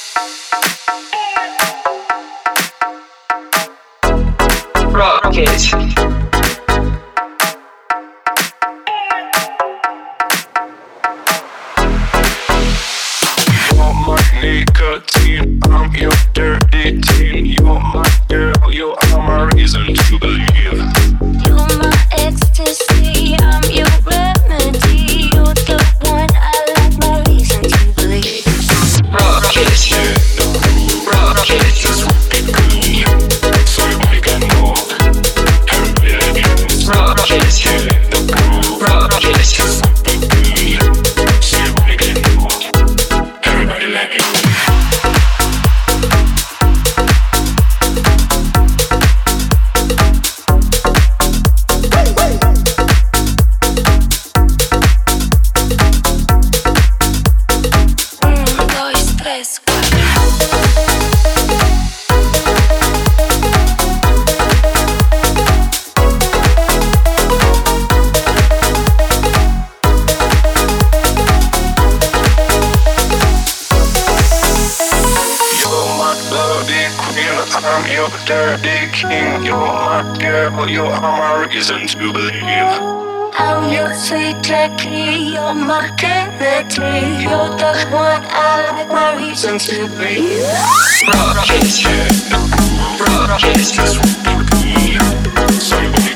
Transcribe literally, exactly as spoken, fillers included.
Rocket. You're my nicotine, I'm your dirty teen. You're my girl, you are my reason to believe. You're my ecstasy, I'm your remedy. You're the one I like, my reason to believe. Rocket. Rocket. Just rock it good, so everybody can know. Everybody like you. Rocket. Get in the groove. Rocket. Just rock it good, so everybody can know. Everybody like you. Dois, três, You're my bloody queen, I'm your dirty king. You're my girl, you are my reason to believe. I'm your sweet Jackie, you're my Kennedy. You're the one I like, my reason to believe. Rocket. Get in the groove. Rocket. Just rock it good, so everybody